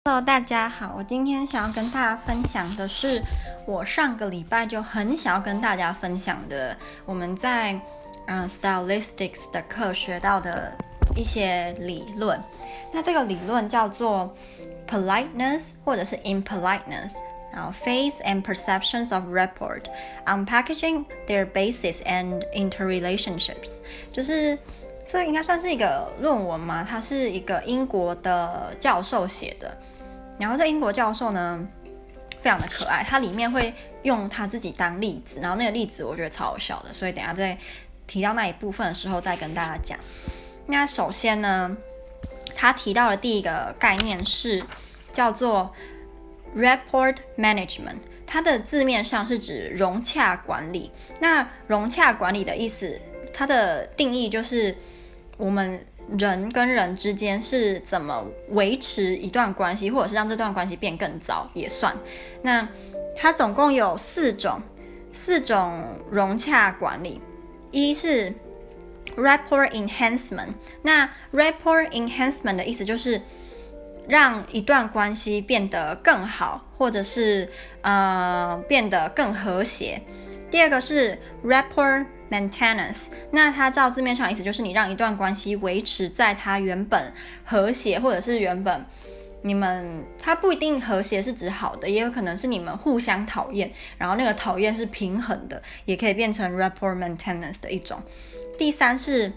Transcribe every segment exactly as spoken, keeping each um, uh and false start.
Hello， 大家好，我今天想要跟大家分享的是我上個禮拜就很想要跟大家分享的，我們在嗯、呃、Stylistics 的課學到的一些理論。那這個理論叫做 Politeness 或者是 Impoliteness， 然後 Phase and Perceptions of Rapport, Unpackaging their basis and interrelationships， 就是這應該算是一個論文嘛，它是一個英國的教授寫的。然後這英國教授呢，非常的可愛，他裡面會用他自己當例子，然後那個例子我覺得超好笑的，所以等一下在提到那一部分的時候再跟大家講。那首先呢，他提到的第一個概念是叫做 Rapport Management， 它的字面上是指融洽管理。那融洽管理的意思，它的定義就是我們人跟人之間是怎麼維持一段關係，或者是讓這段關係變更糟也算。那它總共有四種四種融洽管理。一是 Rapport Enhancement， 那 Rapport Enhancement 的意思就是讓一段關係變得更好，或者是呃變得更和諧。第二個是 Rapport Maintenance， 那它照字面上的意思就是你讓一段關係維持在它原本和諧，或者是原本你們它不一定和諧是指好的，也有可能是你們互相討厭，然后那個討厭是平衡的，也可以变成 Rapport Maintenance 的一種。第三是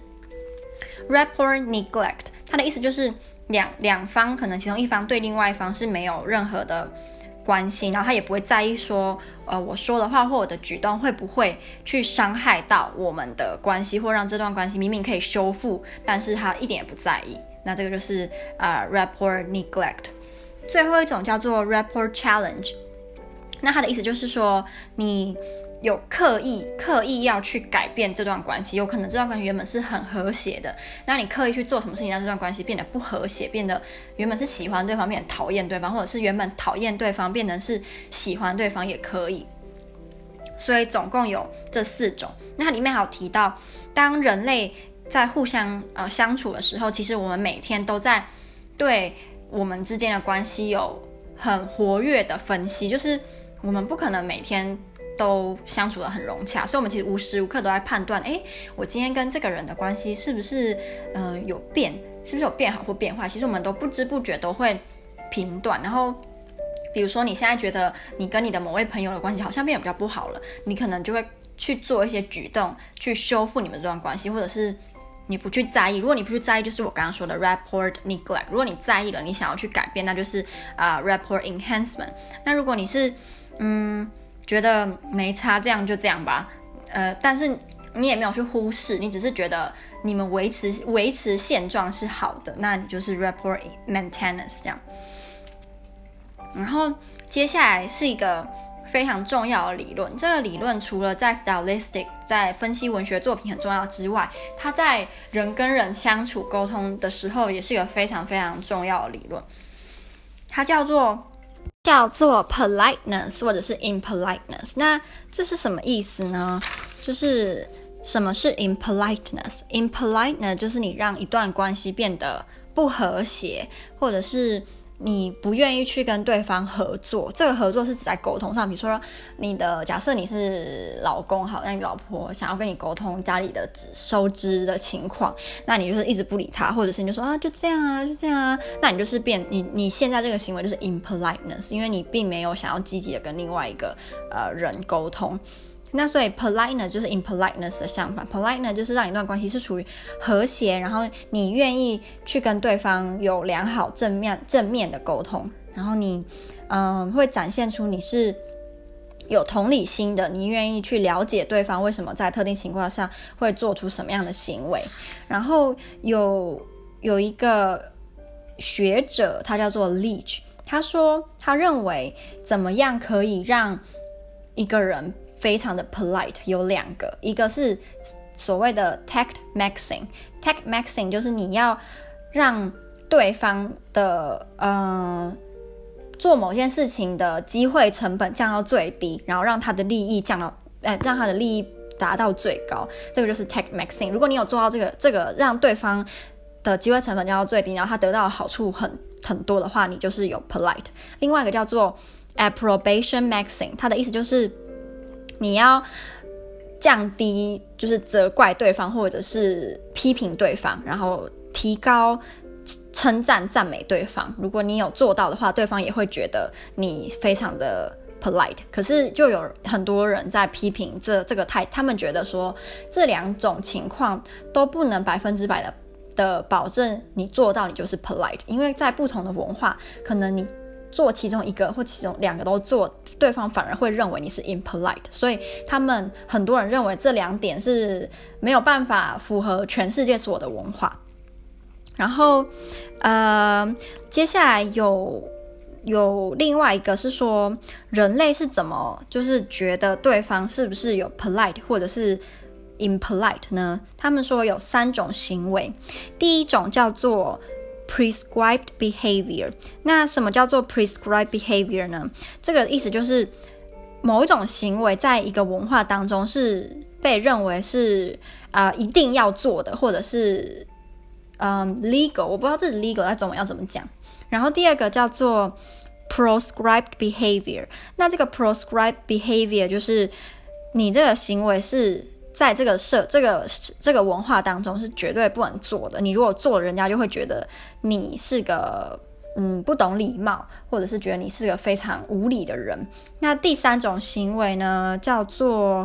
Rapport Neglect， 它的意思就是两两方可能其中一方對另外一方是沒有任何的關係，然後他也不會在意說，呃，我說的話或我的舉動會不會去傷害到我們的關係，或讓這段關係明明可以修復，但是他一點也不在意。那這個就是呃 Rapport Neglect。最後一種叫做 Rapport Challenge， 那它的意思就是說你有刻意刻意要去改變這段關係，有可能這段關係原本是很和諧的，那你刻意去做什麼事情讓這段關係變得不和諧，變得原本是喜歡對方變得討厭對方，或者是原本討厭對方變成是喜歡對方也可以。所以總共有這四種。那它裡面還有提到，當人類在互相呃相處的時候，其實我們每天都在對我們之間的關係有很活躍的分析，就是我們不可能每天都相處得很融洽，所以我們其實無時無刻都在判斷，哎，我今天跟這個人的關係是不是呃有變，是不是有變好或變壞？其實我們都不知不覺都會評斷。然後比如說你現在覺得你跟你的某位朋友的關係好像變得比較不好了，你可能就會去做一些舉動去修復你們這段關係，或者是你不去在意。如果你不去在意，就是我剛剛說的 Rapport Neglect。如果你在意了，你想要去改變，那就是啊、呃、Rapport Enhancement。那如果你是嗯覺得沒差，這樣就這樣吧，呃，但是你也沒有去忽視，你只是覺得你們維持維持現狀是好的，那你就是 Rapport Maintenance 這樣。然後接下來是一個非常重要的理論，這個理論除了在 Stylistic 在分析文學作品很重要之外，它在人跟人相處溝通的時候也是一個非常非常重要的理論，它叫做叫做 politeness 或者是 impoliteness。 那這是什麼意思呢？就是什麼是 impoliteness？ impoliteness 就是你讓一段關係變得不和諧，或者是你不願意去跟對方合作。這個合作是指在溝通上，比如說你的假設你是老公好，那你老婆想要跟你溝通家裡的收支的情況，那你就是一直不理他，或者是你就說啊就這樣啊就這樣啊，那你就是變你你現在這個行為就是 impoliteness， 因為你並沒有想要積極的跟另外一個呃人溝通。那所以 politeness 就是 impoliteness 的相反， politeness 就是讓一段關係是處於和諧，然後你願意去跟對方有良好正面正面的溝通，然後你嗯會展現出你是有同理心的，你願意去了解對方為什麼在特定情況下會做出什麼樣的行為。然後有有一個學者他叫做 Leach， 他說他認為怎麼樣可以讓一個人非常的 polite， 有兩個，一個是所謂的 tact maxing， tact maxing 就是你要讓對方的呃做某件事情的機會成本降到最低，然後讓他的利益降到呃讓他的利益達到最高，這個就是 tact maxing。如果你有做到這個這個讓對方的機會成本降到最低，然後他得到的好處很很多的話，你就是有 polite。另外一個叫做 approbation maxing， 它的意思就是你要降低就是責怪對方或者是批評對方，然後提高稱讚讚美對方。如果你有做到的話，對方也會覺得你非常的 polite。可是就有很多人在批評這這個態，他們覺得說這兩種情況都不能百分之百的的保證你做到你就是 polite， 因為在不同的文化，可能你做其中一個或其中兩個都做，對方反而會認為你是 impolite。所以他們很多人認為這兩點是沒有辦法符合全世界所有的文化。然後呃，接下來有有另外一個是說，人類是怎麼就是覺得對方是不是有 polite 或者是 impolite 呢？他們說有三種行為，第一種叫做 prescribed behavior。那什麼叫做 prescribed behavior 呢？這個意思就是某一種行為在一個文化當中是被認為是啊、呃、一定要做的，或者是嗯 legal， 我不知道這 legal 在中文要怎麼講。然後第二個叫做 proscribed behavior。那這個 proscribed behavior 就是你這個行為是在這個社這個這個文化當中是絕對不能做的。你如果做了，人家就會覺得你是個嗯不懂禮貌，或者是覺得你是個非常無禮的人。那第三種行為呢，叫做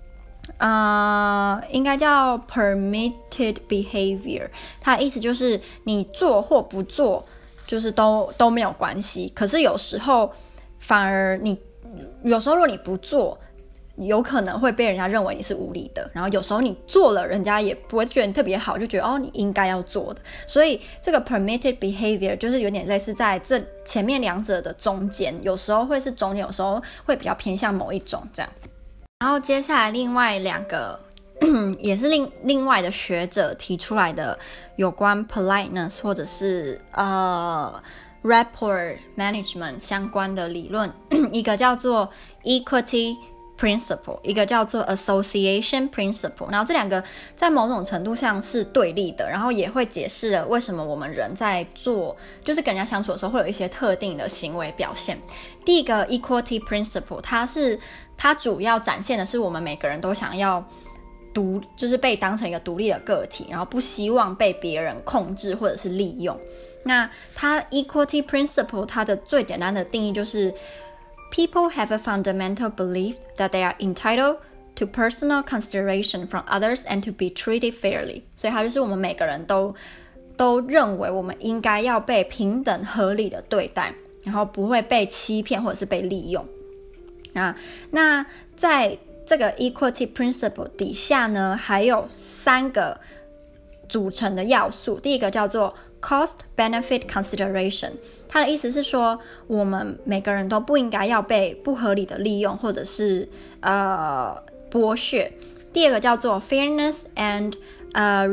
呃，應該叫 permitted behavior。它的意思就是你做或不做，就是都都沒有關係。可是有時候反而你有時候如果你不做，有可能會被人家認為你是無理的。然後有時候你做了，人家也不會覺得你特別好，就覺得哦你應該要做的。所以這個 permitted behavior 就是有點類似在這前面兩者的中間，有時候會是中間，有時候會比較偏向某一種這樣。然後接下來另外兩個也是另另外的學者提出來的有關 politeness 或者是呃 rapport management 相關的理論，一個叫做 equity principle， 一個叫做 association principle。然後這兩個在某種程度上是對立的，然後也會解釋了為什麼我們人在做就是跟人家相處的時候會有一些特定的行為表現。第一個 equity principle， 它是它主要展現的是我們每個人都想要獨，就是被當成一個獨立的個體，然後不希望被別人控制或者是利用。那它 equity principle 它的最簡單的定義就是People have a fundamental belief that they are entitled to personal consideration from others and to be treated fairly。所以它就是我們每個人都都認為我們應該要被平等合理的對待，然後不會被欺騙或者是被利用。啊，那在這個 equity principle 底下呢，還有三個組成的要素。第一個叫做Cost benefit consideration， 它的意思是說，我們每個人都不應該要被不合理的利用或者是呃剝削。第二個叫做 fairness and 呃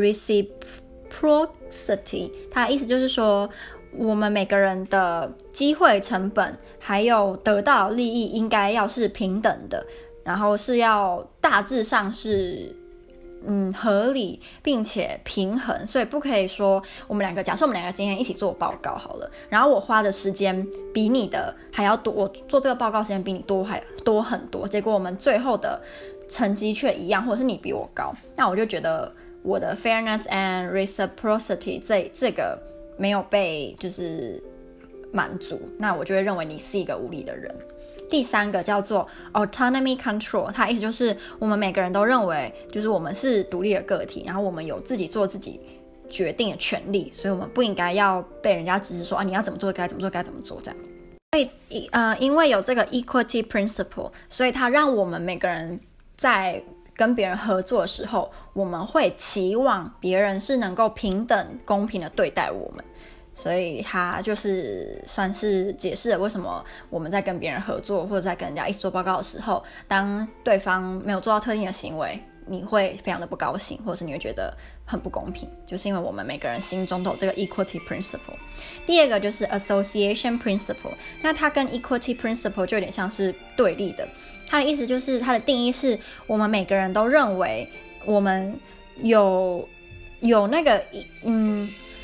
reciprocity， 它的意思就是說，我們每個人的機會成本還有得到利益應該要是平等的，然後是要大致上是嗯，合理並且平衡。所以不可以說我們兩個，假設我們兩個今天一起做報告好了，然後我花的時間比你的還要多，我做這個報告時間比你多還多很多，結果我們最後的成績卻一樣，或者是你比我高，那我就覺得我的 fairness and reciprocity 這這個沒有被就是滿足，那我就會認為你是一個無理的人。第三個叫做 autonomy control， 它的意思就是我們每個人都認為就是我們是獨立的個體，然後我們有自己做自己決定的權利，所以我們不應該要被人家指示說啊你要怎麼做該怎麼做該怎麼做這樣。所以呃，因為有這個 equity principle， 所以它讓我們每個人在跟別人合作的時候，我們會期望別人是能夠平等公平的對待我們。所以他就是算是解釋了為什麼我們在跟別人合作或者在跟人家一起做報告的時候，當對方沒有做到特定的行為，你會非常的不高興，或者是你會覺得很不公平，就是因為我們每個人心中都有這個 equity principle。第二個就是 association principle， 那它跟 equity principle 就有點像是對立的。它的意思就是它的定義是我們每個人都認為我們有有那個嗯。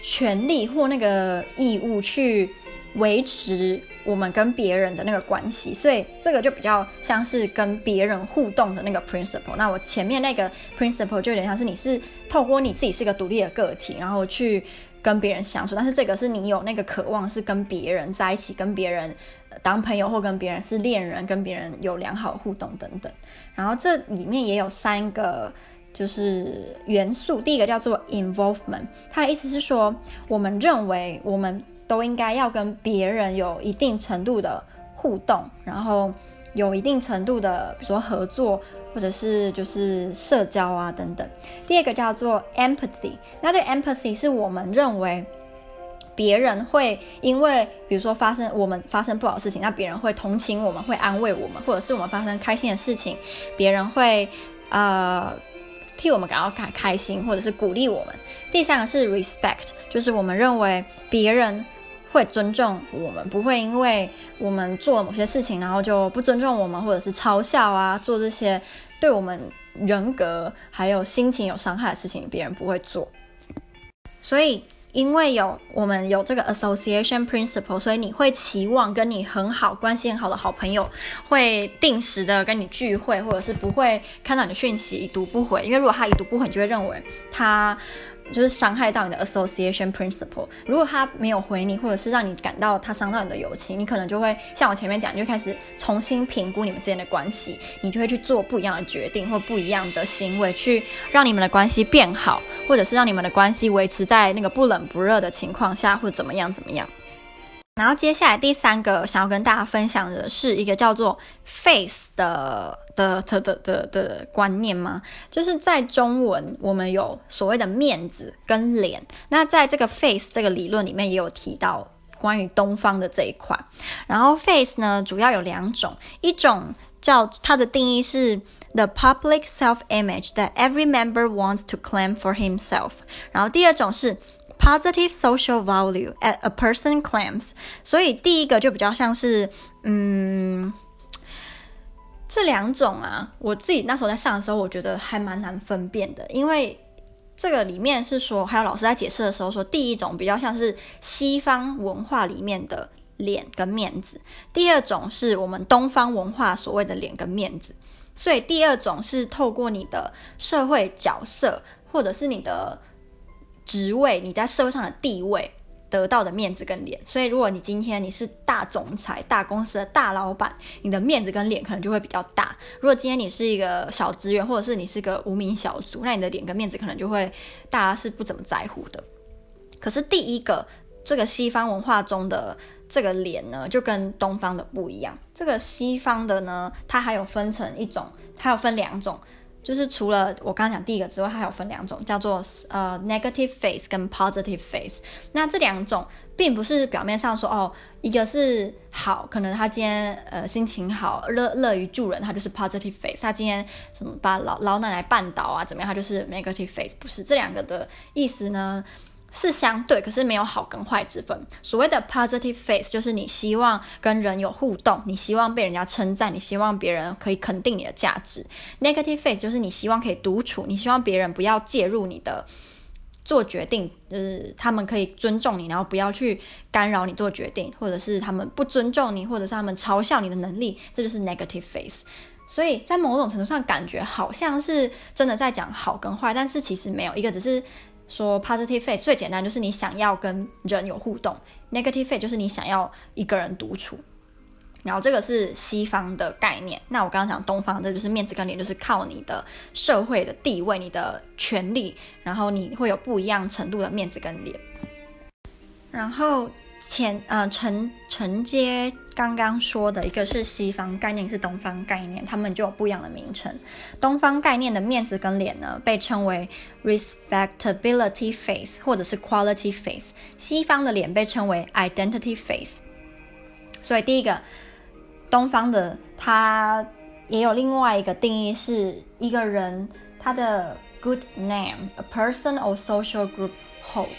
權利或那個義務去維持我們跟別人的那個關係，所以這個就比較像是跟別人互動的那個 principle。那我前面那個 principle 就有點像是你是透過你自己是一個獨立的個體，然後去跟別人相處，但是這個是你有那個渴望是跟別人在一起，跟別人當朋友，或跟別人是戀人，跟別人有良好互動等等。然後這裡面也有三個就是元素，第一個叫做 involvement， 它的意思是說，我們認為我們都應該要跟別人有一定程度的互動，然後有一定程度的比如說合作，或者是就是社交啊等等。第二個叫做 empathy， 那這個 empathy 是我們認為別人會因為比如說發生我們發生不好的事情，那別人會同情我們，會安慰我們，或者是我們發生開心的事情，別人會呃替我們感到開開心，或者是鼓勵我們。第三個是 respect， 就是我們認為別人會尊重我們，不會因為我們做了某些事情，然後就不尊重我們，或者是嘲笑啊，做這些對我們人格還有心情有傷害的事情，別人不會做。所以因為有我們有這個 association principle， 所以你會期望跟你很好關係很好的好朋友會定時的跟你聚會，或者是不會看到你的訊息已讀不回，因為如果他已讀不回，你就會認為他就是傷害到你的 association principle。如果他沒有回你，或者是讓你感到他傷到你的友情，你可能就會像我前面講，你就開始重新評估你們之間的關係，你就會去做不一樣的決定或不一樣的行為，去讓你們的關係變好，或者是讓你們的關係維持在那個不冷不熱的情況下，或者怎麼樣怎麼樣。然後接下來第三個想要跟大家分享的是一個叫做 face 的的的的的的觀念嗎？就是在中文我們有所謂的面子跟臉，那在這個 face 這個理論裡面也有提到關於東方的這一塊。然後 face 呢主要有兩種，一種叫它的定義是 the public self-image that every member wants to claim for himself， 然後第二種是positive social value that a person claims。 所以第一個就比較像是嗯，這兩種啊，我自己那時候在上的時候我覺得還蠻難分辨的，因為這個裡面是說，還有老師在解釋的時候說，第一種比較像是西方文化裡面的臉跟面子，第二種是我們東方文化所謂的臉跟面子。所以第二種是透過你的社會角色，或者是你的職位，你在社會上的地位得到的面子跟臉。所以如果你今天你是大總裁，大公司的大老闆，你的面子跟臉可能就會比較大。如果今天你是一個小職員，或者是你是個無名小卒，那你的臉跟面子可能就會大家是不怎麼在乎的。可是第一個這個西方文化中的這個臉呢，就跟東方的不一樣。這個西方的呢，它還有分成一種，它有分兩種，就是除了我剛剛講第一個之外，它還有分兩種，叫做呃 negative face 跟 positive face。那這兩種並不是表面上說哦，一個是好，可能他今天呃心情好，樂樂於助人，他就是 positive face；他今天什麼把老老奶奶絆倒啊，怎麼樣，他就是 negative face。不是，這兩個的意思呢是相對，可是沒有好跟壞之分。所謂的 positive face 就是你希望跟人有互動，你希望被人家稱讚，你希望別人可以肯定你的價值。negative face 就是你希望可以獨處，你希望別人不要介入你的做決定，就是他們可以尊重你，然後不要去干擾你做決定，或者是他們不尊重你，或者是他們嘲笑你的能力，這就是 negative face。所以在某種程度上感覺好像是真的在講好跟壞，但是其實沒有，一個只是說 positive face 最簡單就是你想要跟人有互動， negative face 就是你想要一個人獨處。然後這個是西方的概念，那我剛剛講東方，這就是面子跟臉，就是靠你的社會的地位，你的權利，然後你會有不一樣程度的面子跟臉。然後前呃承承接剛剛說的，一個是西方概念，是東方概念，他們就有不一樣的名稱。東方概念的面子跟臉呢，被稱為 respectability face 或者是 quality face， 西方的臉被稱為 identity face。所以第一個東方的它也有另外一個定義，是一個人他的 good name a person or social group holds。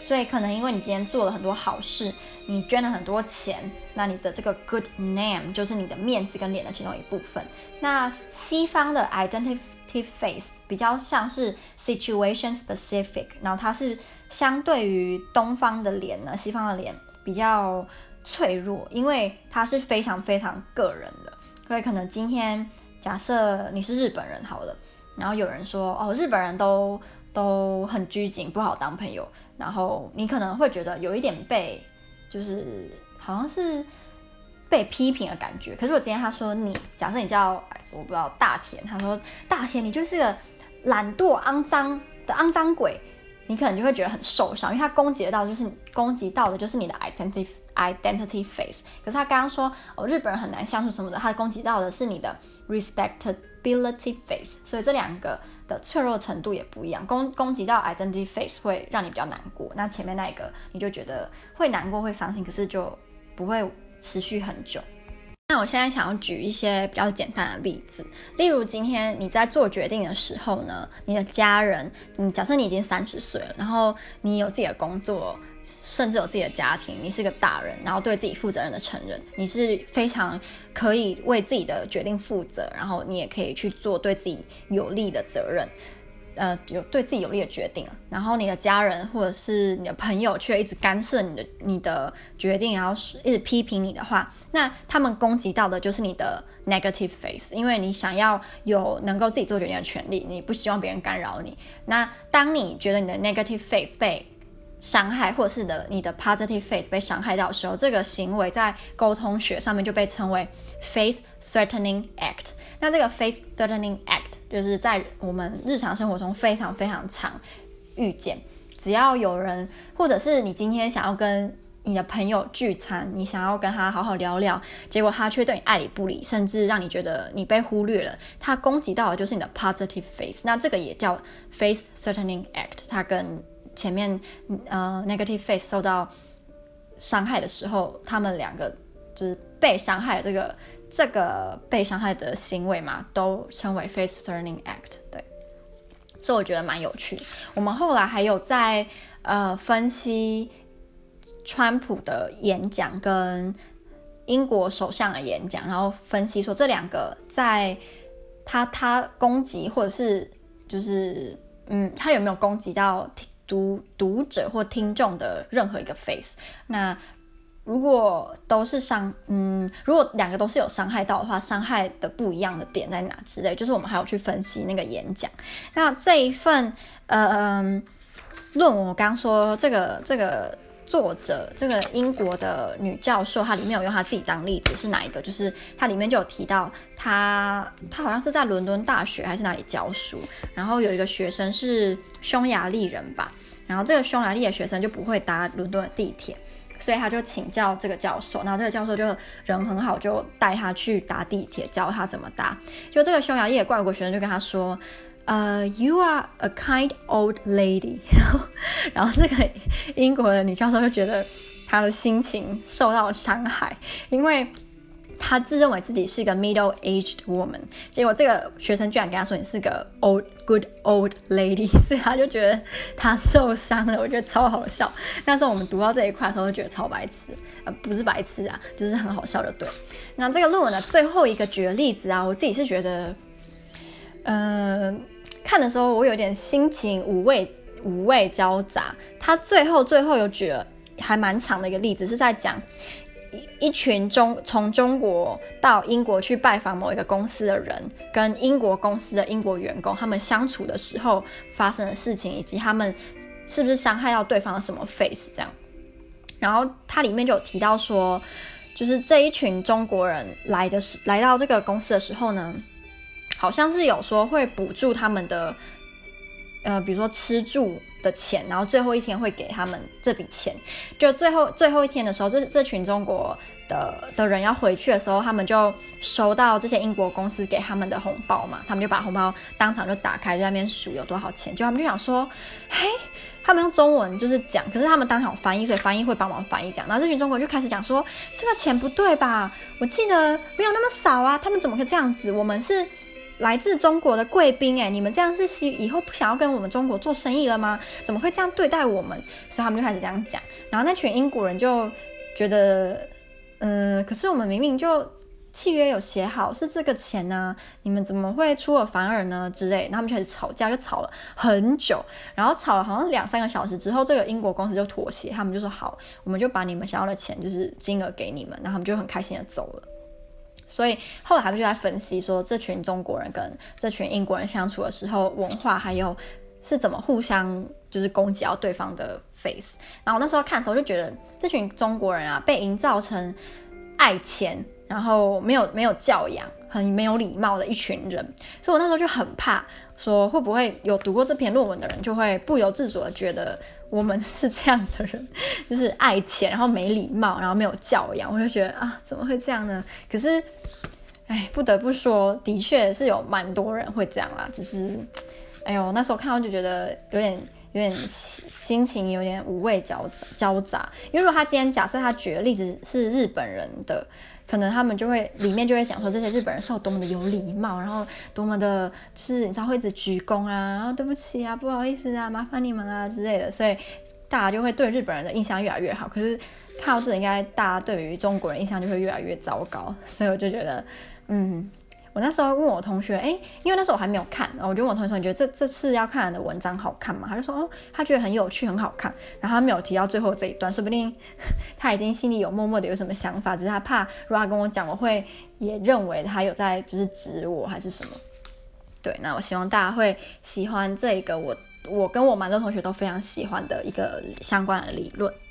所以可能因為你今天做了很多好事，你捐了很多錢，那你的這個 good name 就是你的面子跟臉的其中一部分。那西方的 identity face 比較像是 situation specific， 然後它是相對於東方的臉呢，西方的臉比較脆弱，因為它是非常非常個人的。所以可能今天假設你是日本人好了，然後有人說哦，日本人都都很拘謹，不好當朋友。然後你可能會覺得有一點被，就是好像是被批評的感覺。可是我今天他說你，假設你叫我不知道大田，他說大田你就是個懶惰、骯髒的骯髒鬼，你可能就會覺得很受傷，因為他攻擊得到就是攻擊到的就是你的 identity identity face。可是他剛剛說哦，日本人很難相處什麼的，他攻擊到的是你的 respectability face， 所以這兩個的脆弱程度也不一樣，攻攻擊到 identity face 會讓你比較難過，那前面那一個你就覺得會難過會傷心，可是就不會持續很久。那我現在想要舉一些比較簡單的例子，例如今天你在做決定的時候呢，你的家人，你假設你已經三十歲了，然後你有自己的工作，甚至有自己的家庭，你是個大人，然後對自己負責任的成人，你是非常可以為自己的決定負責，然後你也可以去做對自己有利的責任，呃，有对自己有利的決定。然後你的家人或者是你的朋友卻一直干涉你的你的決定，然後一直批評你的話，那他們攻擊到的就是你的 negative face， 因為你想要有能夠自己做決定的權利，你不希望別人干擾你。那當你覺得你的 negative face 被傷害，或者是的你的 positive face 被傷害到的時候，這個行為在溝通學上面就被稱為 face threatening act。那這個 face threatening act 就是在我們日常生活中非常非常常遇見，只要有人，或者是你今天想要跟你的朋友聚餐，你想要跟他好好聊聊，結果他卻對你愛理不理，甚至讓你覺得你被忽略了，他攻擊到的就是你的 positive face。那這個也叫 face threatening act， 它跟前面呃 negative face 受到傷害的時候，他們兩個就是被傷害的這個這個被傷害的行為嘛，都稱為 face threatening act。對，所以我覺得蠻有趣。我們後來還有在呃分析川普的演講跟英國首相的演講，然後分析說這兩個在他他攻擊或者是就是嗯他有沒有攻擊到讀讀者或聽眾的任何一個 face。 那如果都是傷嗯如果兩個都是有傷害到的話，傷害的不一樣的點在哪之類，就是我們還有去分析那個演講。那這一份呃論文我剛剛說這個這個作者，這個英國的女教授，她裡面有用她自己當例子，是哪一個？就是她裡面就有提到她，她好像是在倫敦大學還是哪裡教書，然後有一個學生是匈牙利人吧，然後這個匈牙利的學生就不會搭倫敦的地鐵，所以他就請教這個教授，然後這個教授就人很好，就帶他去搭地鐵，教他怎麼搭。就這個匈牙利的外國學生就跟他說，呃、uh, ，You are a kind old lady 然後。然後這個英國的女教授就覺得她的心情受到了傷害，因為她自認為自己是一個 middle-aged woman， 結果這個學生居然跟她說你是個 old good old lady， 所以她就覺得她受傷了。我覺得超好笑。那時候我們讀到這一塊的時候，就覺得超白痴，呃，不是白痴啊，就是很好笑的。對，那這個論文的最後一個舉的例子啊，我自己是覺得，嗯、呃。看的時候我有點心情五味五味交雜。他最後最後有舉了還蠻長的一個例子，是在講一群中從中國到英國去拜訪某一個公司的人，跟英國公司的英國員工他們相處的時候發生的事情，以及他們是不是傷害到對方的什麼 face 這樣。然後他裡面就有提到說，就是這一群中國人來的時來到這個公司的時候呢，好像是有說會補助他們的，呃，比如說吃住的錢，然後最後一天會給他們這筆錢。就最後最後一天的時候，這這群中國的的人要回去的時候，他們就收到這些英國公司給他們的紅包嘛，他們就把紅包當場就打開，就在那邊數有多少錢。結果他們就想說，嘿，他們用中文就是講，可是他們當場有翻譯，所以翻譯會幫忙翻譯講。然後這群中國人就開始講說，這個錢不對吧？我記得沒有那麼少啊，他們怎麼可以這樣子？我們是。 來自中國的貴賓，哎，你們這樣是希以後不想要跟我們中國做生意了嗎？怎麼會這樣對待我們？所以他們就開始這樣講。然後那群英國人就覺得，嗯，可是我們明明就契約有寫好是這個錢呢、啊，你們怎麼會出爾反爾呢？之類，然後他們就開始吵架，就吵了很久，然後吵了好像兩三個小時之後，這個英國公司就妥協，他們就說好，我們就把你們想要的錢就是金額給你們，然後他們就很開心的走了。所以後來他們就在分析說，這群中國人跟這群英國人相處的時候，文化還有是怎麼互相就是攻擊到對方的 face。然後我那時候看的時候就覺得，這群中國人啊，被營造成愛錢，然後沒有沒有教養，很沒有禮貌的一群人。所以我那時候就很怕，說會不會有讀過這篇論文的人，就會不由自主的覺得我們是這樣的人，就是愛錢，然後沒禮貌，然後沒有教養。我就覺得啊，怎麼會這樣呢？可是，哎，不得不說，的確是有蠻多人會這樣啦。只是，哎呦，那時候看到就覺得有點。有點心情有點五味交交雜，因為如果他今天假設他舉的例子是日本人的，可能他們就會裡面就會想說，這些日本人是有多麼的有禮貌，然後多麼的就是你知道會一直鞠躬啊，然後對不起啊，不好意思啊，麻煩你們啊之類的，所以大家就會對日本人的印象越來越好。可是看到這，應該大家對於中國人印象就會越來越糟糕，所以我就覺得，嗯。我那時候問我同學，哎，因為那時候我還沒有看，然後我就問我同學說，你覺得這這次要看的文章好看嗎？他就說，哦，他覺得很有趣，很好看。然後他沒有提到最後這一段，說不定他已經心裡有默默的有什麼想法，只是他怕如果他跟我講，我會也認為他有在就是指我還是什麼。對，那我希望大家會喜歡這個我我跟我蠻多同學都非常喜歡的一個相關的理論。